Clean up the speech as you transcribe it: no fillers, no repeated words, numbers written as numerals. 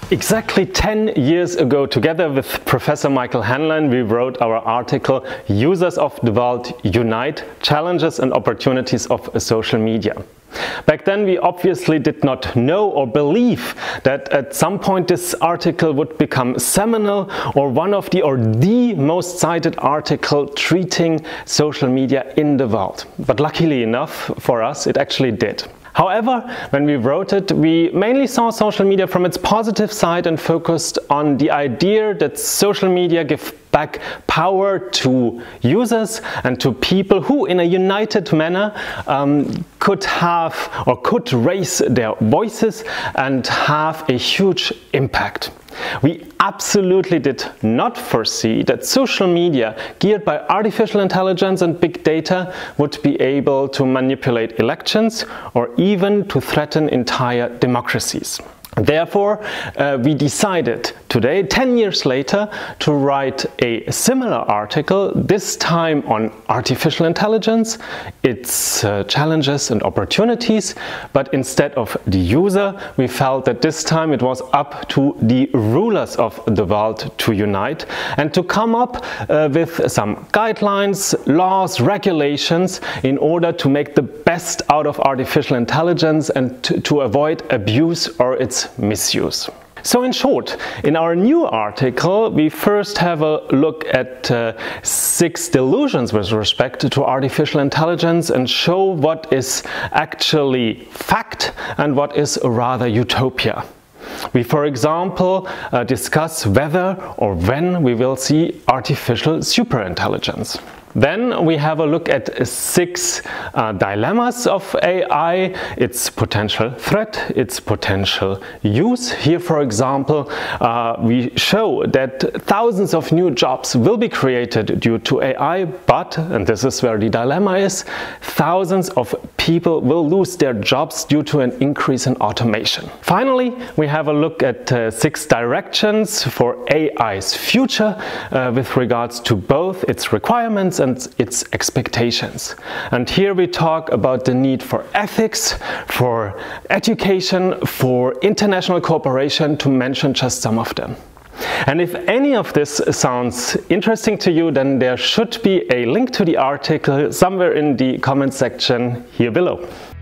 Exactly 10 years ago, together with Professor Michael Henlein, we wrote our article Users of the World Unite: Challenges and Opportunities of Social Media. Back then we obviously did not know or believe that at some point this article would become seminal or the most cited article treating social media in the world. But luckily enough for us, it actually did. However, when we wrote it, we mainly saw social media from its positive side and focused on the idea that social media give back power to users and to people who, in a united manner, could raise their voices and have a huge impact. We absolutely did not foresee that social media geared by artificial intelligence and big data would be able to manipulate elections or even to threaten entire democracies. Therefore, we decided today, 10 years later, to write a similar article, this time on artificial intelligence, its challenges and opportunities, but instead of the user, we felt that this time it was up to the rulers of the world to unite and to come up with some guidelines, laws, regulations in order to make the best out of artificial intelligence and to avoid abuse or its misuse. So in short, in our new article, we first have a look at 6 delusions with respect to artificial intelligence and show what is actually fact and what is rather utopia. We, for example, discuss whether or when we will see artificial superintelligence. Then we have a look at 6 dilemmas of AI, its potential threat, its potential use. Here, for example, we show that thousands of new jobs will be created due to AI, but, and this is where the dilemma is, thousands of people will lose their jobs due to an increase in automation. Finally, we have a look at 6 directions for AI's future with regards to both its requirements and its expectations. And here we talk about the need for ethics, for education, for international cooperation, to mention just some of them. And if any of this sounds interesting to you, then there should be a link to the article somewhere in the comment section here below.